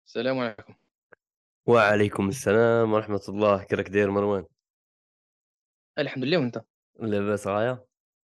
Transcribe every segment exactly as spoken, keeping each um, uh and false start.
السلام عليكم. وعليكم السلام ورحمة الله، كيراك داير مروان؟ الحمد لله، وأنت؟ لاباس غاية؟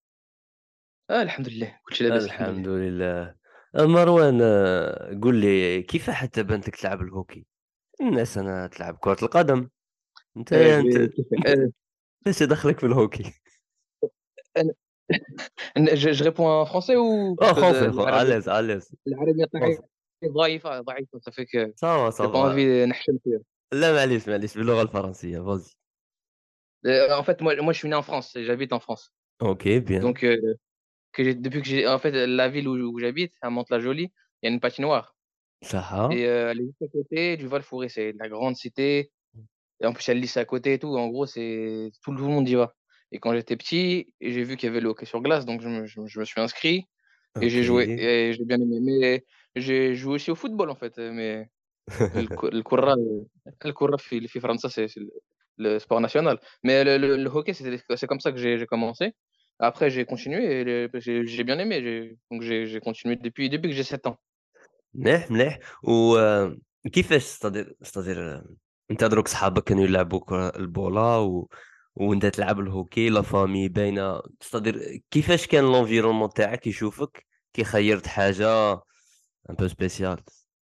آه الحمد لله، كل شيء لاباس الحمد الحمد لله. لله. آه، مروان، آه، قل لي كيف حتى بنت لك تلعب الهوكي؟ الناس أنا تلعب كرة القدم. انت آه انت جو كيف آه ايش دخلك في الهوكي؟ أنا أنا je je réponds en français ou parce اه que de خونسي خو العربية اليز اليز العربية تاعي خونسي. ضعيفة ضعيفة ça fait que صافا j'ai pas صافا. envie نحشم فيها. لا معليش معليش باللغة الفرنسية فوزي. Heu, en fait, moi moi je suis né en France, j'habite en France. اوكي بيان. Donc heu, que j'ai depuis que j'ai en fait, la ville où où j'habite, à Mantes-la-Jolie, il y a une patinoire صحة. et heu, elle est juste à côté du Val-Fouré, c'est la grande cité. Et en plus, il y a le lycée à côté et tout. En gros, c'est tout le tout le monde y va. Et quand j'étais petit, j'ai vu qu'il y avait le hockey sur glace, donc je me je me je me suis inscrit et j'ai joué اوكي. et j'ai bien aimé. Mais j'ai joué aussi au football en fait, heu, mais الك الكرة الكرة في في فرنسا c'est c'est le le sport national. Mais le le le hockey, c'est c'est comme ça que j'ai j'ai commencé. Après j'ai continué et le j'ai j'ai bien aimé, j'ai donc j'ai j'ai continué depuis depuis que j'ai sept ans. مليح، مليح. وكيفاش ستادير ستادير أنت دروك صحابك كانوا يلعبوا كرة البولا و وأنت تلعب الهوكي، لا فامي باينة، ستادير كيفاش كان l'environnement تاعك يشوفك كي خيّرت حاجة un peu spéciale؟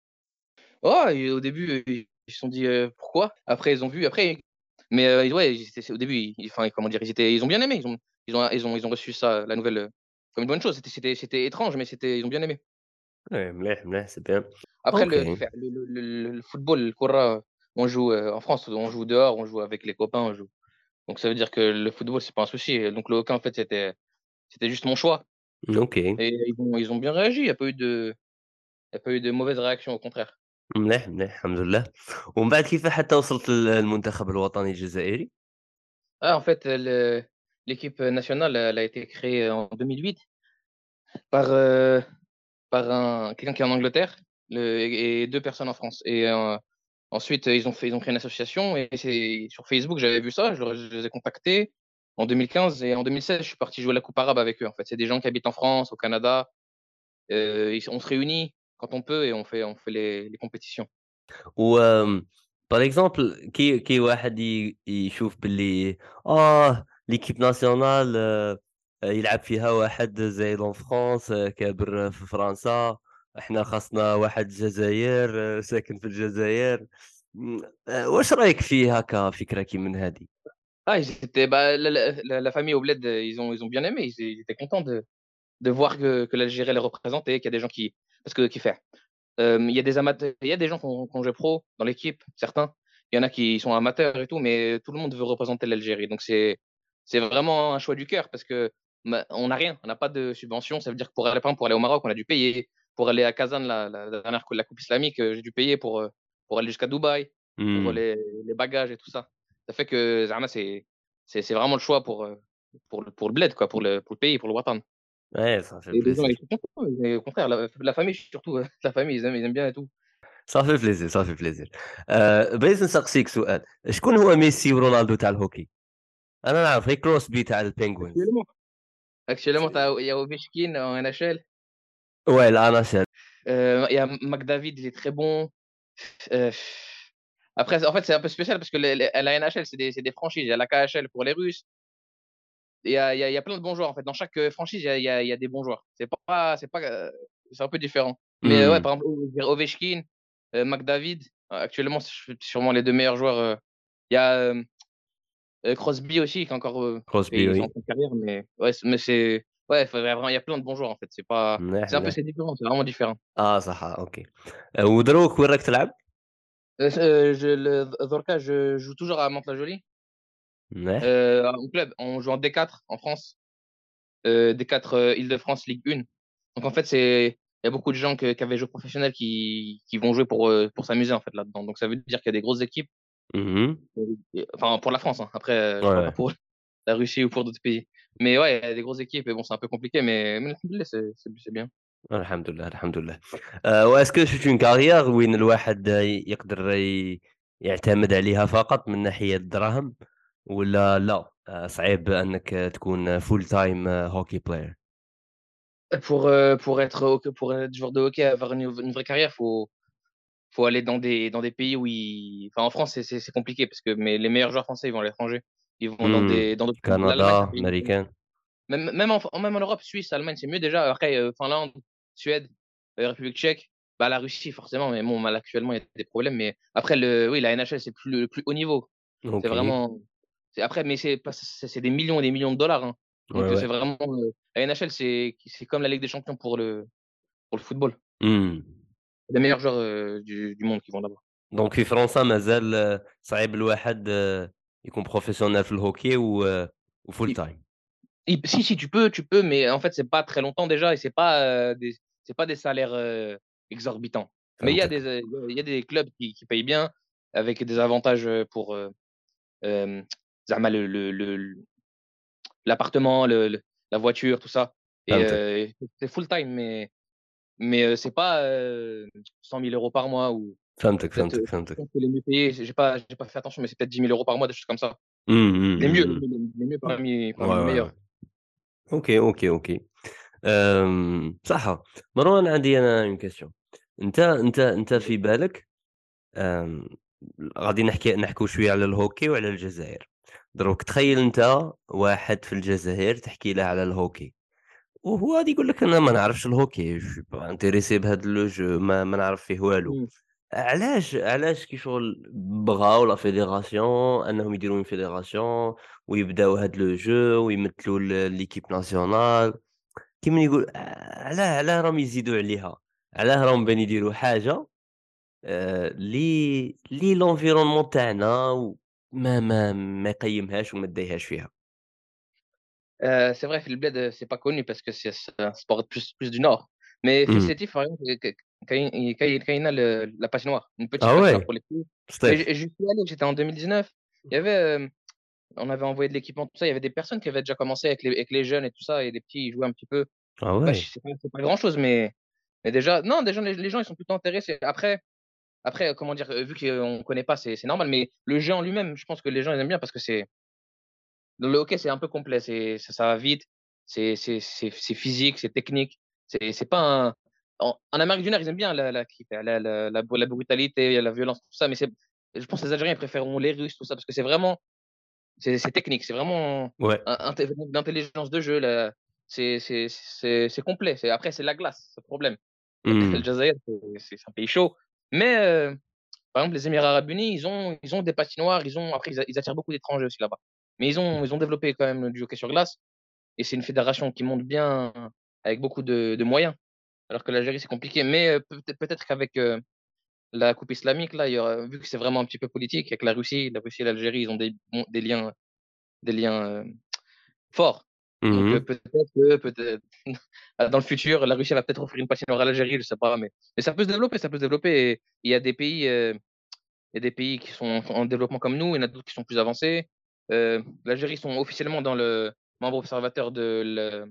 Oh et au début, heu, ils se sont dit: «Heu, pourquoi?» Après ils ont vu après mais heu, ouais, ils étaient au début, ils enfin, comment dire? Ils étaient ils ont bien aimé, ils ont ils ont ils ont ils ont reçu ça, la nouvelle, heu, comme une bonne chose. C'était c'était c'était étrange, mais c'était ils ont bien aimé. Ouais مليح، مليح c'est bien. Après le OK. كيف le le le le football, الكرة, on joue, heu, en France, on joue dehors, on joue avec les copains, on joue donc ça veut dire que le football, c'est pas un souci et donc le hockey, en fait, c'était c'était juste mon choix OK. et ils ont ils ont bien réagi. Il y a pas eu de il y a pas eu de mauvaise réaction, au contraire. مليح، مليح الحمد لله. ومن بعد كيف حتى وصلت لل للمنتخب الوطني الجزائري؟ Ah, en fait, le l'équipe nationale, elle a été créée en deux mille huit par, heu par un quelqu'un qui est en Angleterre, le et et deux personnes en France et heu, ensuite, ils ont fait ils ont créé une association et c'est sur Facebook, j'avais vu ça, je leur je les ai contactés en deux mille quinze et en deux mille seize, je suis parti jouer la coupe arabe avec eux, en fait. C'est des gens qui habitent en France, au Canada, heu, ils on se réunit quand on peut et on fait on fait les les compétitions. وآمم par exemple كي كي واحد ي يشوف باللي آه l'équipe nationale آآ يلعب فيها واحد زايد en France آه، كابر في فرنسا، إحنا خاصنا واحد الجزاير آه، ساكن في الجزاير. إمم، آآ واش رأيك فيها كفكرة كي من هذه؟ Ah, ils étaient bah, la la la la famille au bled, ils ont ils ont bien aimé, ils ils étaient contents de de voir que que l'Algérie les représentait, qu'il y a des gens qui parce que qui fait Hem, il y a des amateurs il y a des gens qui ont qui ont joué pro dans l'équipe, certains. Il y en a qui sont amateurs et tout, mais tout le monde veut représenter l'Algérie. Donc c'est c'est vraiment un choix du cœur parce que, bah, on n'a rien, on n'a pas de subvention. Ça veut dire que pour aller, par exemple, pour aller au Maroc, on a dû payer. Pour aller à Kazan, la la la dernière la coupe islamique, heu, j'ai dû payer pour, heu, pour aller jusqu'à Dubaï, pour إمم، les les bagages et tout ça. Ça fait que زعما c'est c'est c'est vraiment le choix pour, heu, pour le pour le bled quoi, pour le pour le pays, pour le وطن. ouais ça fait Et les gens, plaisir. ils sont contents, mais au contraire, la la famille surtout, heu, la famille, ils aiment ils aiment bien et tout. Ça fait plaisir، ça fait plaisir. آآ بغيت نسقسيك سؤال، شكون هو ميسي ورونالدو تاع الهوكي؟ أنا نعرف غير كروسبي تاع الpenguins. Actuellement actuellement, tu as il y a Ovechkin en N H L, Ouais الأنا شا heu, il y a McDavid, il est très bon. Heu, après, en fait, c'est un peu spécial parce que les les la N H L, c'est des c'est des franchises. Il y a la K H L pour les Russes. Il y a il y a il y a plein de bons joueurs, en fait. Dans chaque, heu, franchise, il y a il y a il y a des bons joueurs. C'est pas c'est pas, heu, c'est un peu différent. Mais heu, ouais, إمم. par exemple, je dirais Ovechkin, heu, McDavid, heu, actuellement, c'est ch sûrement les deux meilleurs joueurs, heu. Il y a, hem, heu, Crosby aussi qui est encore, heu, Crosby et il est en oui. fin de carrière, mais ouais, c mais c'est ouais, faudrait vraiment il y a plein de bons joueurs, en fait. C'est pas مليح، c'est un peu مليح. c'est différent, c'est vraiment différent. آه صح، آه، أوكي. آآ ودروك وين راك تلعب؟ Heu, ce je le Zorka, je joue toujours à Mantes-la-Jolie, مليح. heu, en club. On joue en D quatre en France, heu, D quatre, heu, Île-de-France Ligue un. Donc en fait, c'est il y a beaucoup de gens que qui avaient joué professionnel qui qui vont jouer pour, heu, pour s'amuser en fait là-dedans. Donc ça veut dire qu'il y a des grosses équipes, Mmh mh. heu, et enfin pour la France, hein. Après, heu, Ouais, je parle pas ouais. pour la Russie ou pour d'autres pays. Mais ouais, il y a des grosses équipes et bon, c'est un peu compliqué, mais mais alhamdoulilah, c'est c'est c'est bien. الحمد لله، الحمد لله. آآ واسكو سيت اون كارير وين الواحد ي يقدر ي يعتمد عليها فقط من ناحية الدراهم والّا لأ، آآ صعيب أنك تكون full time hockey player؟ Pour, heu, pour être hockey pour être joueur de hockey, avoir une une vraie carrière, faut faut aller dans des, dans des pays où ils. Enfin, en France, c'est c'est- c'est compliqué parce que mais les meilleurs joueurs français, ils vont à l'étranger. Ils vont dans Mmh. des, dans d'autres pays. L'Allemagne, ça Canada, paye mieux. américain. Même, même, en, même en Europe, Suisse, Allemagne, c'est mieux déjà. Après, euh, Finlande, Suède, euh, République tchèque, bah, la Russie, forcément. Mais bon, mal, actuellement, il y a des problèmes. Mais après, le, oui, la N H L, c'est plus, le plus haut niveau. C'est OK. vraiment. c'est- Après, mais c'est pas- c'est c'est des millions et des millions de dollars, hein. Ouais, Donc, euh, c'est ouais. vraiment. euh, la N H L, c'est c'est comme la Ligue des Champions pour le, pour le football. إمم. Les meilleurs joueurs euh, du, du monde qui vont là-bas. دونك في فرنسا مازال آه، صعيب الواحد آه، يكون بروفيسيونيل في الهوكي و آه، وfull Il- time. il- si, si, tu peux, tu peux, mais en fait, c'est pas très longtemps déjà et c'est pas, euh, des, c'est pas des salaires euh, exorbitants. Mais il y a فهمتك. des, euh, il y a des clubs qui, qui payent bien avec des avantages euh, pour euh, euh, زعما le, le, le- l'appartement, le, le- la voiture, tout ça. Et فهمتك. euh, c'est full time, mais, mais euh, c'est pas euh, cent mille euros par mois ou فهمتك، peut-être, فهمتك، euh, je فهمتك. pense que les mieux payés, j'ai pas, j'ai pas fait attention, mais c'est peut-être dix mille euros par mois, des choses comme ça. إمم، إمم، Les mieux, إمم، les إمم. mieux, les mieux parmi, Ouais, parmi les ouais, ouais. meilleurs. OK، OK، OK. آمم، صح. مروان عندي أنا une question. أنت أنت أنت في بالك آمم، غادي نحكي نحكيو شوية على الهوكي وعلى الجزائر. دروك تخيّل أنت واحد في الجزائر تحكي له على الهوكي، وهو غادي يقول لك أنا ما نعرفش الهوكي، je suis pas intéressé بهاد le jeu ما ما نعرف فيه والو. مم. علاش علاش كي شغل بغاو لا fédération أنهم يديروا une fédération ويبداو هاد le jeu ويمثلوا ل l'équipe nationale كيما يقول علاه علاه راهم يزيدوا عليها، علاه راهم باغيين يديروا حاجة آآ لي لي l'environnement تاعنا وما ما ما يقيّمهاش وما دايهاش فيها. Euh, c'est vrai, le bled, euh, c'est pas connu parce que c'est c'est un sport plus, plus du Nord. Mais إمم. Fessétif, par exemple, que- quand il quand il- quand il a le- la patinoire, une petite Ah patinoire ouais? pour les filles. Mais Steph. j- j'y suis allé, j'étais en deux mille dix-neuf. Il y avait, euh, on avait envoyé de l'équipement, tout ça. Il y avait des personnes qui avaient déjà commencé avec les, avec les jeunes et tout ça. Et les petits, ils jouaient un petit peu. Ah C'est pas, ouais? c'est pas, c'est pas grand-chose, mais, mais déjà, non, déjà, les, les gens, ils sont plutôt intéressés. Après, après comment dire, euh, vu qu'on connaît pas, c'est c'est normal. Mais le jeu en lui-même, je pense que les gens, ils aiment bien parce que c'est. Dans le hockey, c'est un peu complet. C'est, ça, ça va vite. C'est, c'est, c'est, c'est physique, c'est technique. C'est, c'est pas un. En, en Amérique du Nord, ils aiment bien la, la, la, la, la, la la brutalité, la violence, tout ça. Mais c'est, je pense que les Algériens ils préféreront les Russes, tout ça, parce que c'est vraiment, c'est, c'est technique. C'est vraiment Ouais. un, un, d'intelligence de jeu. Là. C'est, c'est, c'est, c'est complet. C'est, après, c'est la glace, c'est le problème. Le Mmh. Jazair, c'est, c'est un pays chaud. Mais, euh, par exemple, les Émirats Arabes Unis, ils ont, ils ont des patinoires. Ils ont, après, ils, ils attirent beaucoup d'étrangers aussi là-bas. Mais ils ont, ils ont développé quand même du hockey sur glace. Et c'est une fédération qui monte bien avec beaucoup de, de moyens. Alors que l'Algérie, c'est compliqué. Mais euh, peut-être peut-être qu'avec euh, la coupe islamique, là, il y aura, vu que c'est vraiment un petit peu politique, avec la Russie, la Russie et l'Algérie, ils ont des, bon, des liens, des liens euh, forts. Donc euh, Mmh. peut-être que peut-être dans le futur, la Russie va peut-être offrir une patinoire à l'Algérie, je sais pas, mais, mais ça peut se développer, ça peut se développer. Et il y a des pays, euh, il y a des pays qui sont en développement comme nous, il y en a d'autres qui sont plus avancés. Euh, L'Algérie sont officiellement dans le membre observateur de le-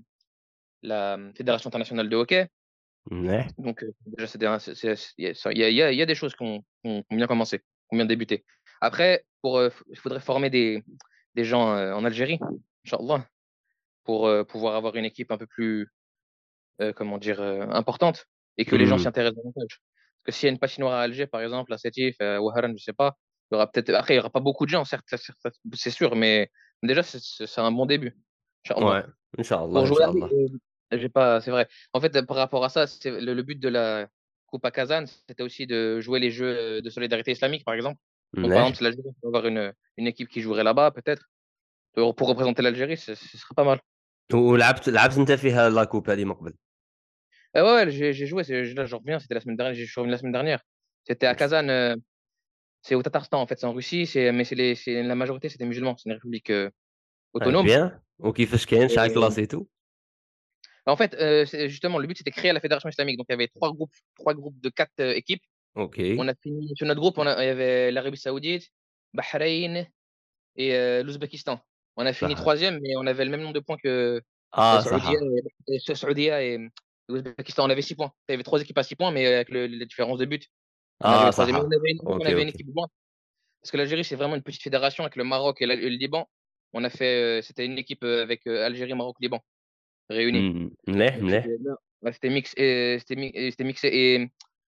la Fédération internationale de hockey. مليح. Donc, euh, déjà, c'est des- c'est- c'est- il y, a, ça- il y, a, il y a- il y a des choses qui ont, qui ont- qui ont bien commencé, qui ont bien débuté. Après, pour, euh, il faudrait former des, des gens euh, en Algérie, Inch'Allah, pour euh, pouvoir avoir une équipe un peu plus, euh, comment dire, euh, importante et que les gens s'y إمم. intéressent davantage. Parce que s'il y a une patinoire à Alger, par exemple, à Sétif, à Ouaharan, je sais pas, il y aura peut-être, après, il n'y aura pas beaucoup de gens, certes, certes, certes, c'est sûr, mais déjà, c'est c'est- c'est un bon début, Inch'Allah. Ouais. إن شاء Pour الله، إن jouer شاء à الله. euh, j'ai pas, c'est vrai. En fait, par rapport à ça, c'est le, le but de la Coupe à Kazan, c'était aussi de jouer les jeux de solidarité islamique, par exemple. Donc, par exemple, مليح. si l'Algérie peut avoir une, une équipe qui jouerait là-bas, peut-être, pour pour représenter l'Algérie, ce, ce serait pas mal. ولعبت لعبت أنت فيها لا كوب هذه من قبل؟ Ah ouais, ouais, j'ai j'ai joué, c'est- là, j'en reviens, c'était la semaine dernière, j'ai joué la semaine dernière. C'était à Kazan, euh, c'est au Tatarstan, en fait, c'est en Russie, c'est, mais c'est les, c'est, la majorité, c'est des musulmans, c'est une république euh, آه autonome. bien. وكيفاش كاين شحال Et, كلاسيتو؟ en fait, euh, c'est- justement, le but, c'était de créer la fédération islamique. Donc, il y avait trois groupes, trois groupes de quatre euh, équipes. On OK. a fini sur notre groupe, on a- il y avait l'Arabie Saoudite, Bahreïn et euh, l'Ouzbékistan. On a fini صح. troisième, mais on avait le même nombre de points que euh, آه Saoudia صح. et, et- Saoudia et l'Ouzbékistan. On avait six points. Il y avait trois équipes à six points, mais avec le- les différences de but, on آه arrivait troisième. Et صح. on avait une, on OK، avait une OK. équipe blanche, parce que l'Algérie, c'est vraiment une petite fédération avec le Maroc et, la- et le Liban. On a fait, euh, c'était une équipe euh, avec euh, Algérie, Maroc, Liban, réunis. إمم. مليح، Donc c'était مليح. ouais, c'était mix, et- c'était mi- et c'était mixé.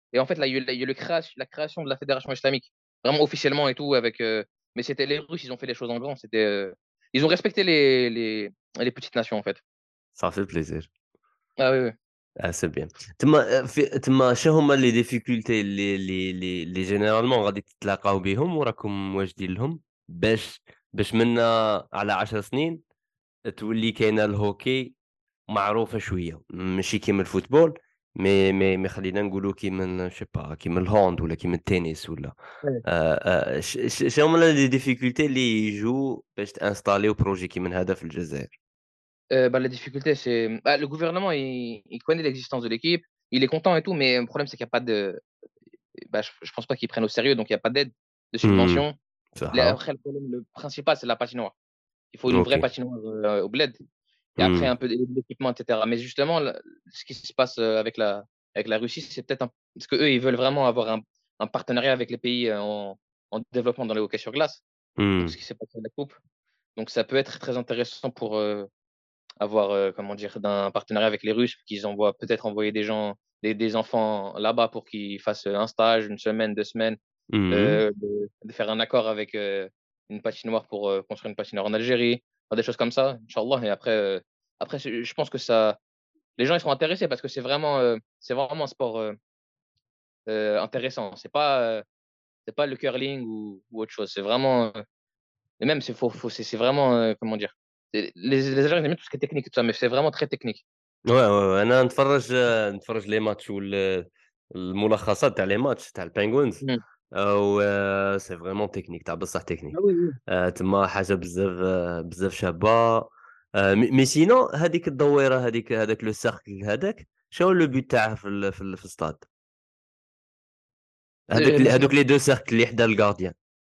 Et en fait, là, il y a eu, il y a eu le créa- la création de la fédération islamique, vraiment officiellement et tout, avec. euh, mais c'était les Russes, ils ont fait les choses en grand. C'était, euh, ils ont respecté les, les, les petites nations, en fait. Ça fait plaisir. Ah oui, oui. Ah, c'est bien. تما في تما شنو هما لي ديفيكولتي اللي اللي اللي اللي جينيرالمون غادي تتلاقاو بهم وراكم واجدين لهم باش باش منا على عشر سنين تولي كاينه الهوكي معروفة شوية، ماشي كيما الفوتبول، مي مي مي خلّينا نقولوا كيما je sais pas كيما الهاند ولا كيما التنس ولا Ouais. آآ آآ ش ش شنو هُما les difficultés اللي يجوا باش تانستاليو بروجي كيما هذا في الجزائر؟ Euh, bah, la difficulté, c'est. Bah, le gouvernement, il, il connaît l'existence de l'équipe, il est content et tout, mais le problème, c'est qu'il n'y a pas de. Bah, je, je pense pas qu'ils prennent au sérieux, donc il n'y a pas d'aide, de إمم، subvention. Les- صح، Après, le problème, le principal, c'est la patinoire. Il faut une vraie أوكي، patinoire euh, au bled. Et après, إمم، un peu d'équipement, et cetera. Mais justement, le- ce qui se passe euh, avec la, avec la Russie, c'est peut-être un. Parce qu'eux, ils veulent vraiment avoir un, un partenariat avec les pays euh, en, en développement dans le hockey sur glace. Donc, إمم، ce qui s'est passé à la Coupe. Donc, ça peut être très intéressant pour euh, avoir, euh, comment dire, d'un partenariat avec les Russes, qu'ils envoient peut-être envoyer des gens, des, des enfants là-bas pour qu'ils fassent un stage, une semaine, deux semaines, إمم، euh, de, de faire un accord avec euh, une patinoire pour euh, construire une patinoire en Algérie, enfin, des choses comme ça, Inch'Allah. Et après, euh, après c'est- je pense que ça, les gens ils seront intéressés parce que c'est vraiment, euh, c'est vraiment un sport euh, euh, intéressant. C'est pas, euh, c'est pas le curling ou, ou autre chose. C'est vraiment, euh, et même c'est faux, faux, c'est c'est vraiment, euh, comment dire, c'est- les, les Algériens ils aiment bien tout ce qui est technique et tout ça, mais c'est vraiment très technique. ouais، ouais، ouais، أنا نتفرّج نتفرّج les matchs وال الملخصات تاع les matchs تاع الpenguins Mhm. و c'est vraiment technique تاع بصح Ah technique. oui, oui. آآ تما حاجة بزاف بزاف شابة. آآ مي مي sinon هذيك الدويرة هذيك هذاك le cercle هذاك، شنو le but تاعه في ال في ال في الstade؟ هذاك Euh, ال les هذوك cercles. les deux cercles اللي حدا الgardien.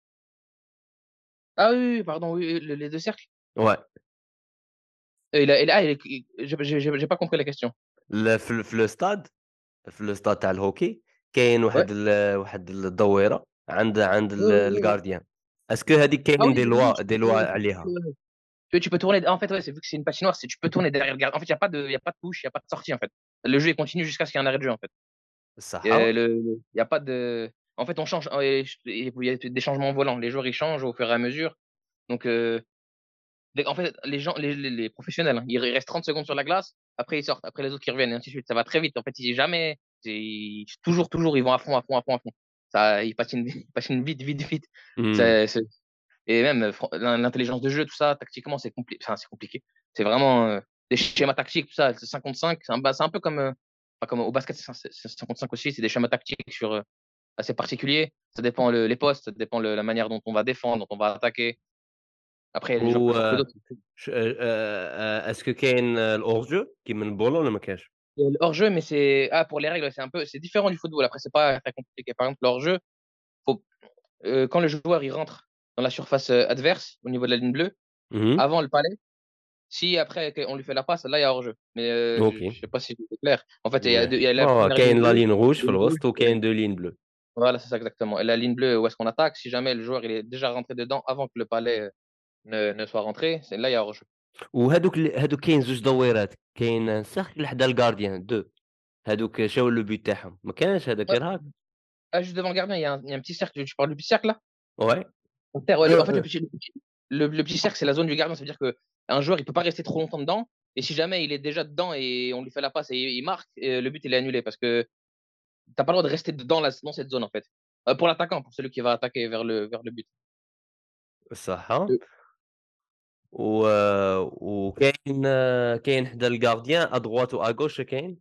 Ah oui, oui, oui, pardon, oui, oui, le- les deux cercles. Ouais. Euh, il a, il a- ah, il est- il- j'ai j'ai- j'ai- j'ai pas compris la question. ال في ال في الstade في الstade تاع الهوكي كاين Ouais. واحد ال واحد الدويرة عند عند Oui, oui, ال oui, oui. الgardien. اسكو هذيك Ah كاين oui, des oui, oui, lois tu des peux, lois oui, tu عليها؟ peux- tu tu peux tourner. En fait, ouais, c'est vu que c'est une patinoire, c'est tu peux tourner derrière le gardien. En fait, il n'y a pas de, il y a pas de touche, il n'y a pas de sortie, en fait. Le jeu, il continue jusqu'à ce qu'il y ait un arrêt de jeu, en fait. الصحة؟ Et le, il n'y a pas de. En fait, on change. euh, Il y a des changements volants. Les joueurs, ils changent au fur et à mesure. Donc, euh, dès- en fait, les gens, les, les, les professionnels, hein, ils restent trente secondes sur la glace. Après, ils sortent. Après, les autres qui reviennent, et ainsi de suite. Ça va très vite. En fait, ils jamais. c'est- Toujours, toujours, ils vont à fond, à fond, à fond, à fond. Ça, ils patinent, ils patinent vite, vite, vite. إمم. C'est, c'est- Et même euh, fran- l'in- l'intelligence de jeu, tout ça, tactiquement, c'est compli- enfin, c'est compliqué. C'est vraiment euh, des schémas tactiques, tout ça. C'est cinquante-cinq. C'est un, ba- c'est un peu comme, euh, enfin, comme au basket, c'est c'est- c'est cinquante-cinq aussi. C'est des schémas tactiques sur, euh, assez particuliers. Ça dépend le- les postes, ça dépend le- la manière dont on va défendre, dont on va attaquer. Après, il y a des joueurs و plus forts que d'autres. ش آآ اسكو كاين الhors jeu كيما البولو والّا ما كاينش؟ Il y a le hors-jeu, mais c'est ah, pour les règles, c'est un peu c'est différent du football. Après, c'est pas très compliqué. Par exemple, le hors-jeu, faut, euh, quand le joueur il rentre dans la surface euh, adverse au niveau de la ligne bleue, اهم. avant le palais, si après on lui fait la passe, là il y a hors-jeu. Mais euh, je, أوكي. je sais pas si c'est clair. En fait, il y a, Ouais. deux- il y a la آه première ligne كاين la bleue ligne rouge et في le rouge. الوسط euh, وكاين deux lignes bleues. Voilà, c'est ça exactement. Et la ligne bleue, où est-ce qu'on attaque? Si jamais le joueur il est déjà rentré dedans avant que le palais euh, ne, ne soit rentré, c'est là il y a hors-jeu. وهادوك ال هادوك كاين زوج دويرات، كاين cercle حدا الgardien deux. هادوك شنو le but تاعهم؟ ما كانش هذاك Ouais. غير هاك؟ Ah, juste devant le gardien, il y, a un, il y a un petit cercle. Tu parles du petit cercle là? Ouais. En terre, ouais, Heu le- en fait, le heu petit, le, le petit cercle, c'est la zone du gardien. Ça veut dire que un joueur, il peut pas rester trop longtemps dedans. Et si jamais il est déjà dedans et on lui fait la passe et il marque, euh, le but il est annulé parce que t'as pas le droit de rester dedans la- dans cette zone en fait. Euh, pour l'attaquant, pour celui qui va attaquer vers le vers le but. صحة. Euh, و وكاين كاين حدا الgardien à droite ou à gauche كاين؟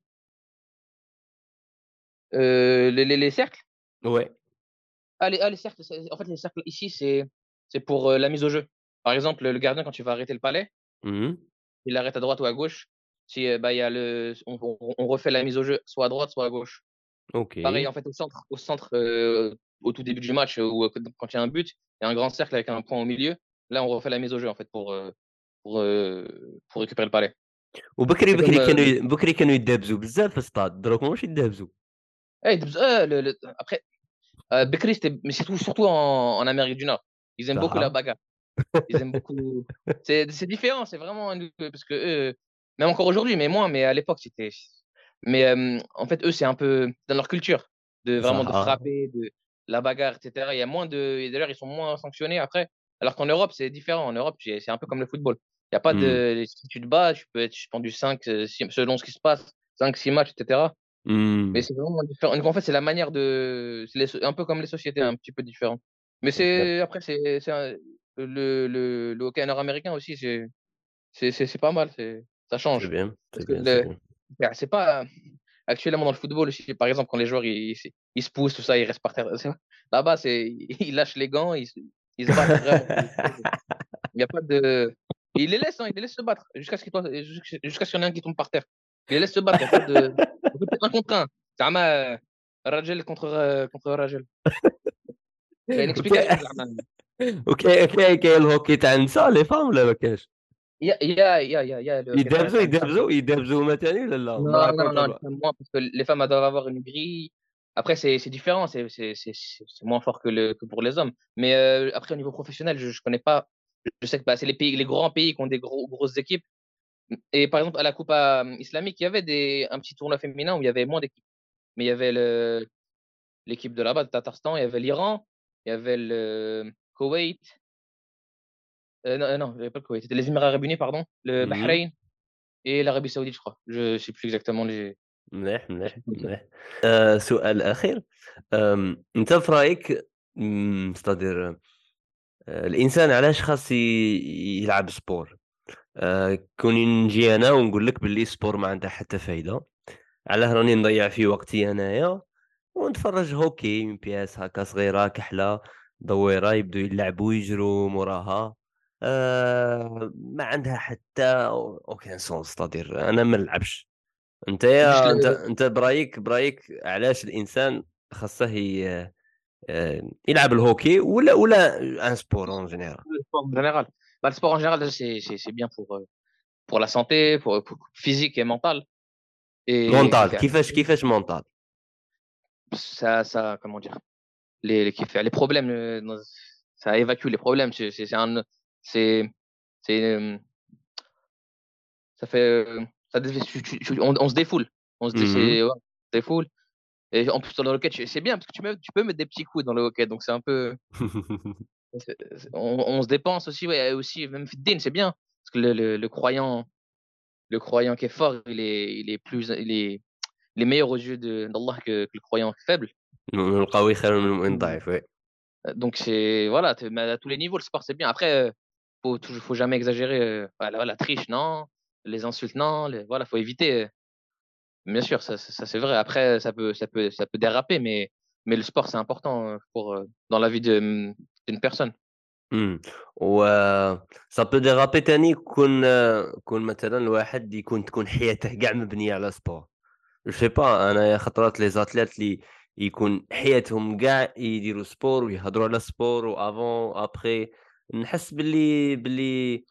euh, les, les, les cercles. Ouais. Ah les, ah, les cercles. c'est- En fait, les cercles ici, c'est c'est pour euh, la mise au jeu. Par exemple, le gardien quand tu vas arrêter le palais, Mmh mh. il arrête à droite ou à gauche. Si euh, bah il y a le, on, on- on refait la mise au jeu soit à droite soit à gauche. Pareil, أوكي. en fait, au centre, au centre euh, au tout début du match, euh, ou euh, quand il y a un but, il y a un grand cercle avec un point au milieu. Là, on refait la mise au jeu, en fait, pour, euh, pour, euh, pour récupérer le palais. وبكري C'est comme. بكري Euh, كانوا ي بكري كانوا يدابزوا بزاف في الstate دروك ماهوش يدابزوا. hey, euh, le- le- après, euh, Bekri, c'était, mais surtout, surtout en, en Amérique du Nord. Ils aiment beaucoup la صحة. bagarre. Ils aiment beaucoup. C'est c'est différent, c'est vraiment. un- Parce que eux, même encore aujourd'hui, mais moins, mais à l'époque, c'était. Mais euh, en fait, eux, c'est un peu dans leur culture. de vraiment de صح. frapper, de la bagarre, et cetera. Il y a moins de, et d'ailleurs, ils sont moins sanctionnés après. Alors qu'en Europe, c'est différent. En Europe, c'est c'est un peu comme le football. Il n'y a pas Mmh. de, si tu te bats, tu peux être suspendu cinq, euh, six- selon ce qui se passe, cinq, six matchs, et cetera. Mais Mmh. c'est vraiment différent. Donc, en fait, c'est la manière de, c'est les- un peu comme les sociétés, un petit peu différent. Mais OK. c'est, après, c'est, c'est un- le, le, le hockey nord-américain aussi, c'est, c'est, c'est c'est pas mal, c'est, ça C'est change. bien, Parce c'est que bien, c'est le, bien. bah, c'est pas, actuellement dans le football aussi, par exemple, quand les joueurs ils, ils, ils se poussent, tout ça, ils restent par terre. c'est- Là-bas, c'est, ils lâchent les gants, ils, se- ils se battent vraiment. Il n'y a pas de. Il les laisse, hein, il les laisse se battre jusqu'à ce qu'il tombe- jusqu'à jusqu'à ce qu'il y en ait un qui tombe par terre. Il les laisse se battre, il n'y a pas de. En fait, c'est un contre un. زعما راجل contre contre راجل. كاين وكا اكسبيكاسيون زعما. وكا كاين كاين الهوكي تاع النساء les femmes ولا ما كاينش؟ يا يا يا يا يا le hockey تاع يدابزوا تاع النساء. يدابزوا يدابزوا هما تاني ولا لا؟ ما Non, non, راكمش non, les أنا. femmes moins, parce que les femmes elles doivent avoir une grille. Après, c'est c'est différent, c'est c'est c'est c'est c'est moins fort que le que pour les hommes. Mais euh, après, au niveau professionnel, je je connais pas. Je sais que bah, c'est les pays, les grands pays qui ont des gros, grosses équipes. Et par exemple, à la Coupe euh, islamique, il y avait des, un petit tournoi féminin où il y avait moins d'équipes. Mais il y avait le, l'équipe de là-bas, de Tatarstan, il y avait l'Iran, il y avait le Koweït, euh, non, euh, non, il y avait pas le Koweït, c'était les Émirats Arabes Unis, pardon, le اهم. Bahreïn et l'Arabie Saoudite, je crois. Je sais plus exactement les. مليح، Je sais مليح، plus exactement. مليح. آآ سؤال أخير، آمم أنت في رأيك إمم c'est-à-dire آآ الإنسان علاش خاص ي يلعب sport؟ آآ كوني نجي أنا ونقول لك باللي الsport ما عنده حتى فايدة، علاه راني نضيّع فيه وقتي أنايا ونتفرّج هوكي من بياس هاكا صغيرة كحلة، دويرة يبدو يلعبوا يجروا موراها، آآ ما عندها حتى aucun sens c'est-à-dire أنا ما نلعبش. Juste أنتيا le, أنت أنت برايك برايك علاش الإنسان خاصه ي آآ يلعب الهوكي ولا ولا un sport en général؟ le sport en général. Bah, le sport en général, c'est c'est- c'est bien pour, euh, pour la santé, pour, pour physique et mentale. Et qui mental fait كيفاش كيفاش mental؟ ça, ça, comment dire, les, les, qui fait les problèmes, euh, dans- ça évacue les problèmes. C'est c'est- c'est un, c'est, c'est, euh, ça fait, euh, ça, dé- tu- tu- tu- on, on se défoule. On se dé, Mmh. c'est- ouais, on se défoule. Et en plus, dans le hockey, tu- c'est bien parce que tu, mets, tu peux mettre des petits coups dans le hockey. Donc, c'est un peu. c'est- c'est- On, on se dépense aussi, ouais, et aussi, même Fiddin, c'est bien. Parce que le, le, le croyant, le croyant qui est fort, il est, il est plus, il est, il est meilleur aux yeux de- d'Allah que, que le croyant faible. المؤمن القوي خير من المؤمن الضعيف وي. Euh, Donc, c'est, voilà, t'es- mais à tous les niveaux, le sport, c'est bien. Après, euh, faut, toujours- faut jamais exagérer. euh, voilà, la triche, non. Les insultes, non. Les, voilà, faut éviter. euh, Bien sûr, ça, ça, ça, c'est vrai. Après, ça peut, ça peut, ça peut déraper, mais, mais le sport, c'est important euh, pour, euh, dans la vie de- d'une personne. إمم. و ça peut déraper تاني كون كون مثلًا الواحد يكون تكون حياته كاع مبنية على sport. je sais pas أنايا خطرات لي زاتليت لي يكون حياتهم كاع يديروا sport ويهضروا على sport وavant après نحس باللي باللي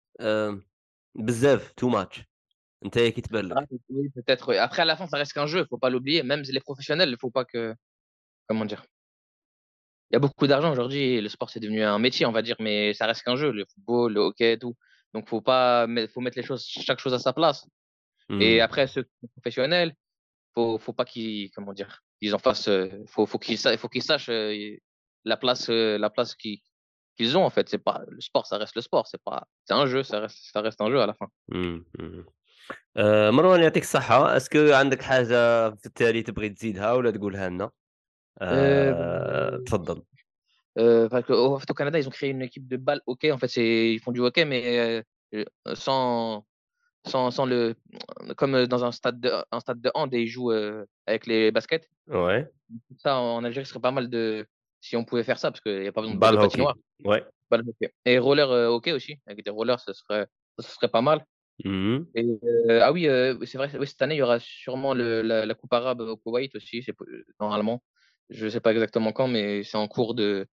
آآ بزاف too much. أنتيا كي تبان Ah, لك؟ oui, peut-être. Oui. Après, à la fin, ça reste qu'un jeu. Faut pas l'oublier. Même les professionnels, il faut pas que, comment dire. Il y a beaucoup d'argent aujourd'hui. Le sport, c'est devenu un métier, on va dire, mais ça reste qu'un jeu. Le football, le hockey, et tout. Donc, faut pas, mais faut mettre les choses, chaque chose à sa place. Et إمم. après, ceux qui sont professionnels, faut, faut pas qu'ils, comment dire, ils en fassent, euh, faut, faut qu'ils, sa- faut qu'ils sachent euh, la place, euh, la place qu'ils, qu'ils ont en fait. C'est pas le sport, ça reste le sport. C'est pas, c'est un jeu, ça reste, ça reste un jeu à la fin. إمم. إمم. آآ مروان يعطيك الصحة، اسكو عندك حاجة في التالي تبغي تزيدها والّا تقولها لنا؟ Euh, آآ تفضل. euh, parce que, au, en fait, au Canada, ils ont créé une équipe de balle hockey. En fait, c'est, ils font du hockey, mais euh, sans, sans, sans le, comme dans un stade de, un stade de hand et ils jouent euh, avec les baskets. Ouais. Ça, en Algérie, ce serait pas mal de, si on pouvait faire ça, parce qu'il n'y a pas besoin de, de Ball hockey. patinoire. Ouais. Balle hockey. Et roller euh, hockey aussi, avec des rollers, ce serait, ce serait pas mal. Mmh mh. Et, euh, ah oui, euh, c'est vrai, oui, cette année, il y aura sûrement le, la, la Coupe arabe au Koweït aussi, c'est, euh, normalement. Je sais pas exactement quand, mais c'est en cours de,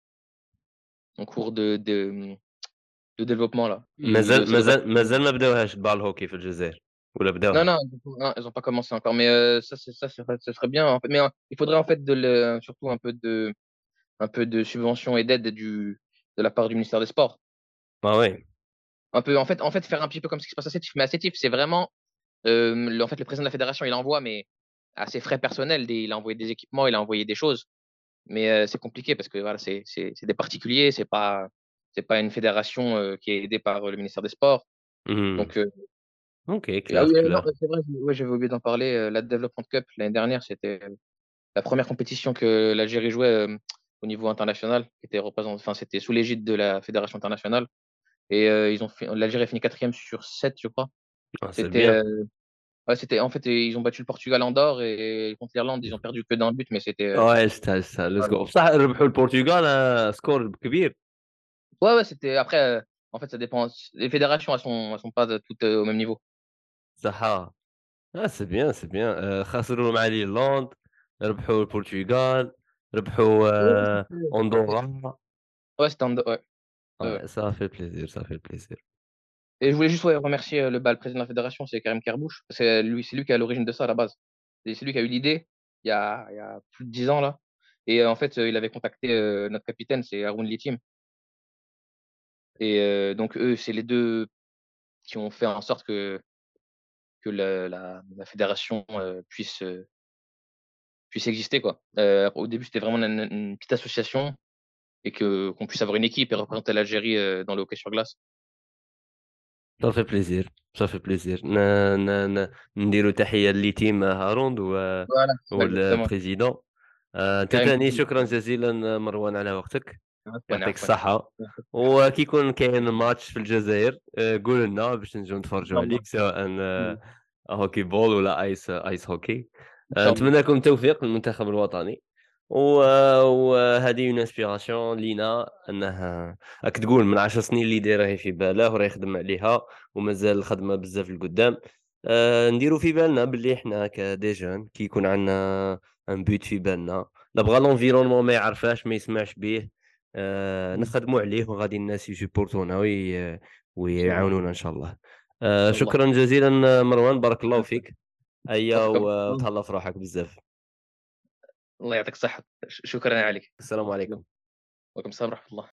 en cours de, de, de développement, là. Il, مازال ça devrait. مازال مازال ما بداوهاش البال هوكي في الجزائر والّا Non, بداوها؟ non, non, ils ont pas commencé encore, mais euh, ça, c'est, ça, c'est- ce serait bien. En fait. Mais euh, il faudrait en fait de le, surtout un peu de, un peu de subvention et d'aide du, de la part du ministère des Sports. Ah ouais. Un peu, en fait, en fait, faire un petit peu comme ce qui se passe à Sétif, mais à Sétif, c'est vraiment, euh, le, en fait, le président de la fédération, il envoie, mais à ses frais personnels, des il a envoyé des équipements, il a envoyé des choses, mais heu, c'est compliqué parce que voilà, c'est c'est c'est des particuliers, c'est pas c'est pas une fédération, heu, qui est aidée par, heu, le ministère des sports. Mmh. Donc heu OK, et ah clair, oui, heu, non, clair. c'est vrai, ouais, j'avais oublié d'en parler, heu, la Development Cup l'année dernière, c'était la première compétition que l'Algérie jouait, hem, au niveau international, qui était représent enfin, c'était sous l'égide de la fédération internationale et heu, ils ont fait l'Algérie a fini quatrième sur sept, je crois. Ah, c'est C'était, bien. heu, ouais, c'était en fait, ils ont battu le Portugal en d'or et contre l'Irlande, ils ont perdu que d'un but, mais c'était, heu, Ouais يستاهل يستاهل let's voilà. go بصح ربحوا البرتغال آآ score كبير. Ouais, ouais, c'était après, heu, en fait, ça dépend. Les fédérations, elles sont elles sont pas toutes, heu, au même niveau. صح. Ah c'est bien, c'est bien. Heu خسروا مع الإيرلند، ربحوا البرتغال، ربحوا Ouais, آآ c'était c'était أندورا. ouais, c'était en ouais, ouais, ouais Ouais, ça fait plaisir, ça fait plaisir. et je voulais juste, ouais, remercier, heu, le bah, le président de la fédération, c'est Karim Kerbouche. C'est lui c'est lui qui est à l'origine de ça à la base et c'est lui qui a eu l'idée il y a il y a plus de dix ans là et heu, en fait, heu, il avait contacté, heu, notre capitaine, c'est Haroun Litim et heu, donc eux, c'est les deux qui ont fait en sorte que que le la la fédération, heu, puisse, heu, puisse exister quoi. Heu, au début, c'était vraiment une une petite association et que qu'on puisse avoir une équipe et représenter l'Algérie, heu, dans le hockey sur glace. Ça fait plaisir، ça fait plaisir. ن ن ن نديروا تحية لتيم هاروند و Voilà, c'est ça exactement. والبريزيدون. آآ أنت Karim تاني Kerbouche. شكرًا جزيلًا مروان على وقتك، عفوًا، يعطيك عفوًا. الصحة، وكي يكون كاين ماتش في الجزائر آآ قُل لنا باش نجيو إن نتفرجوا شاء الله. عليك سواء إمم. هوكي بول ولا أيس أيس هوكي. إن آآ شاء الله. نتمنى لكم التوفيق للمنتخب الوطني، و وهذه une inspiration لينا أنه راك تقول من عشر سنين اللي راهي في باله وراه يخدم عليها ومازال الخدمة بزاف لقدام. آآ نديرو في بالنا باللي حنا كDes jeunes كي يكون عندنا un but في بالنا، نبغى l'environnement ما يعرفهاش ما يسمعش بيه، آآ إمم. نخدموا عليه وغادي الناس يسيبورتونا وي إن شاء الله، ويعاونونا إن شاء الله. إن آآ شاء الله. شكرًا جزيلًا مروان، بارك الله عفوًا. فيك. هيا يعطيك ألف و عافية. وتهلا في روحك بزاف. الله يعطيك الصحة. ش شكرًا عليك. السلام عليكم. وعليكم السلام ورحمة الله.